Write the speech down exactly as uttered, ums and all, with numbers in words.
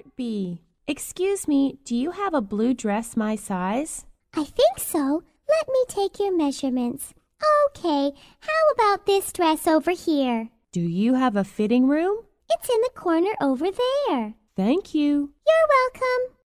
might be. Excuse me, do you have a blue dress my size? I think so. Let me take your measurements. Okay, how about this dress over here? Do you have a fitting room? It's in the corner over there. Thank you. You're welcome.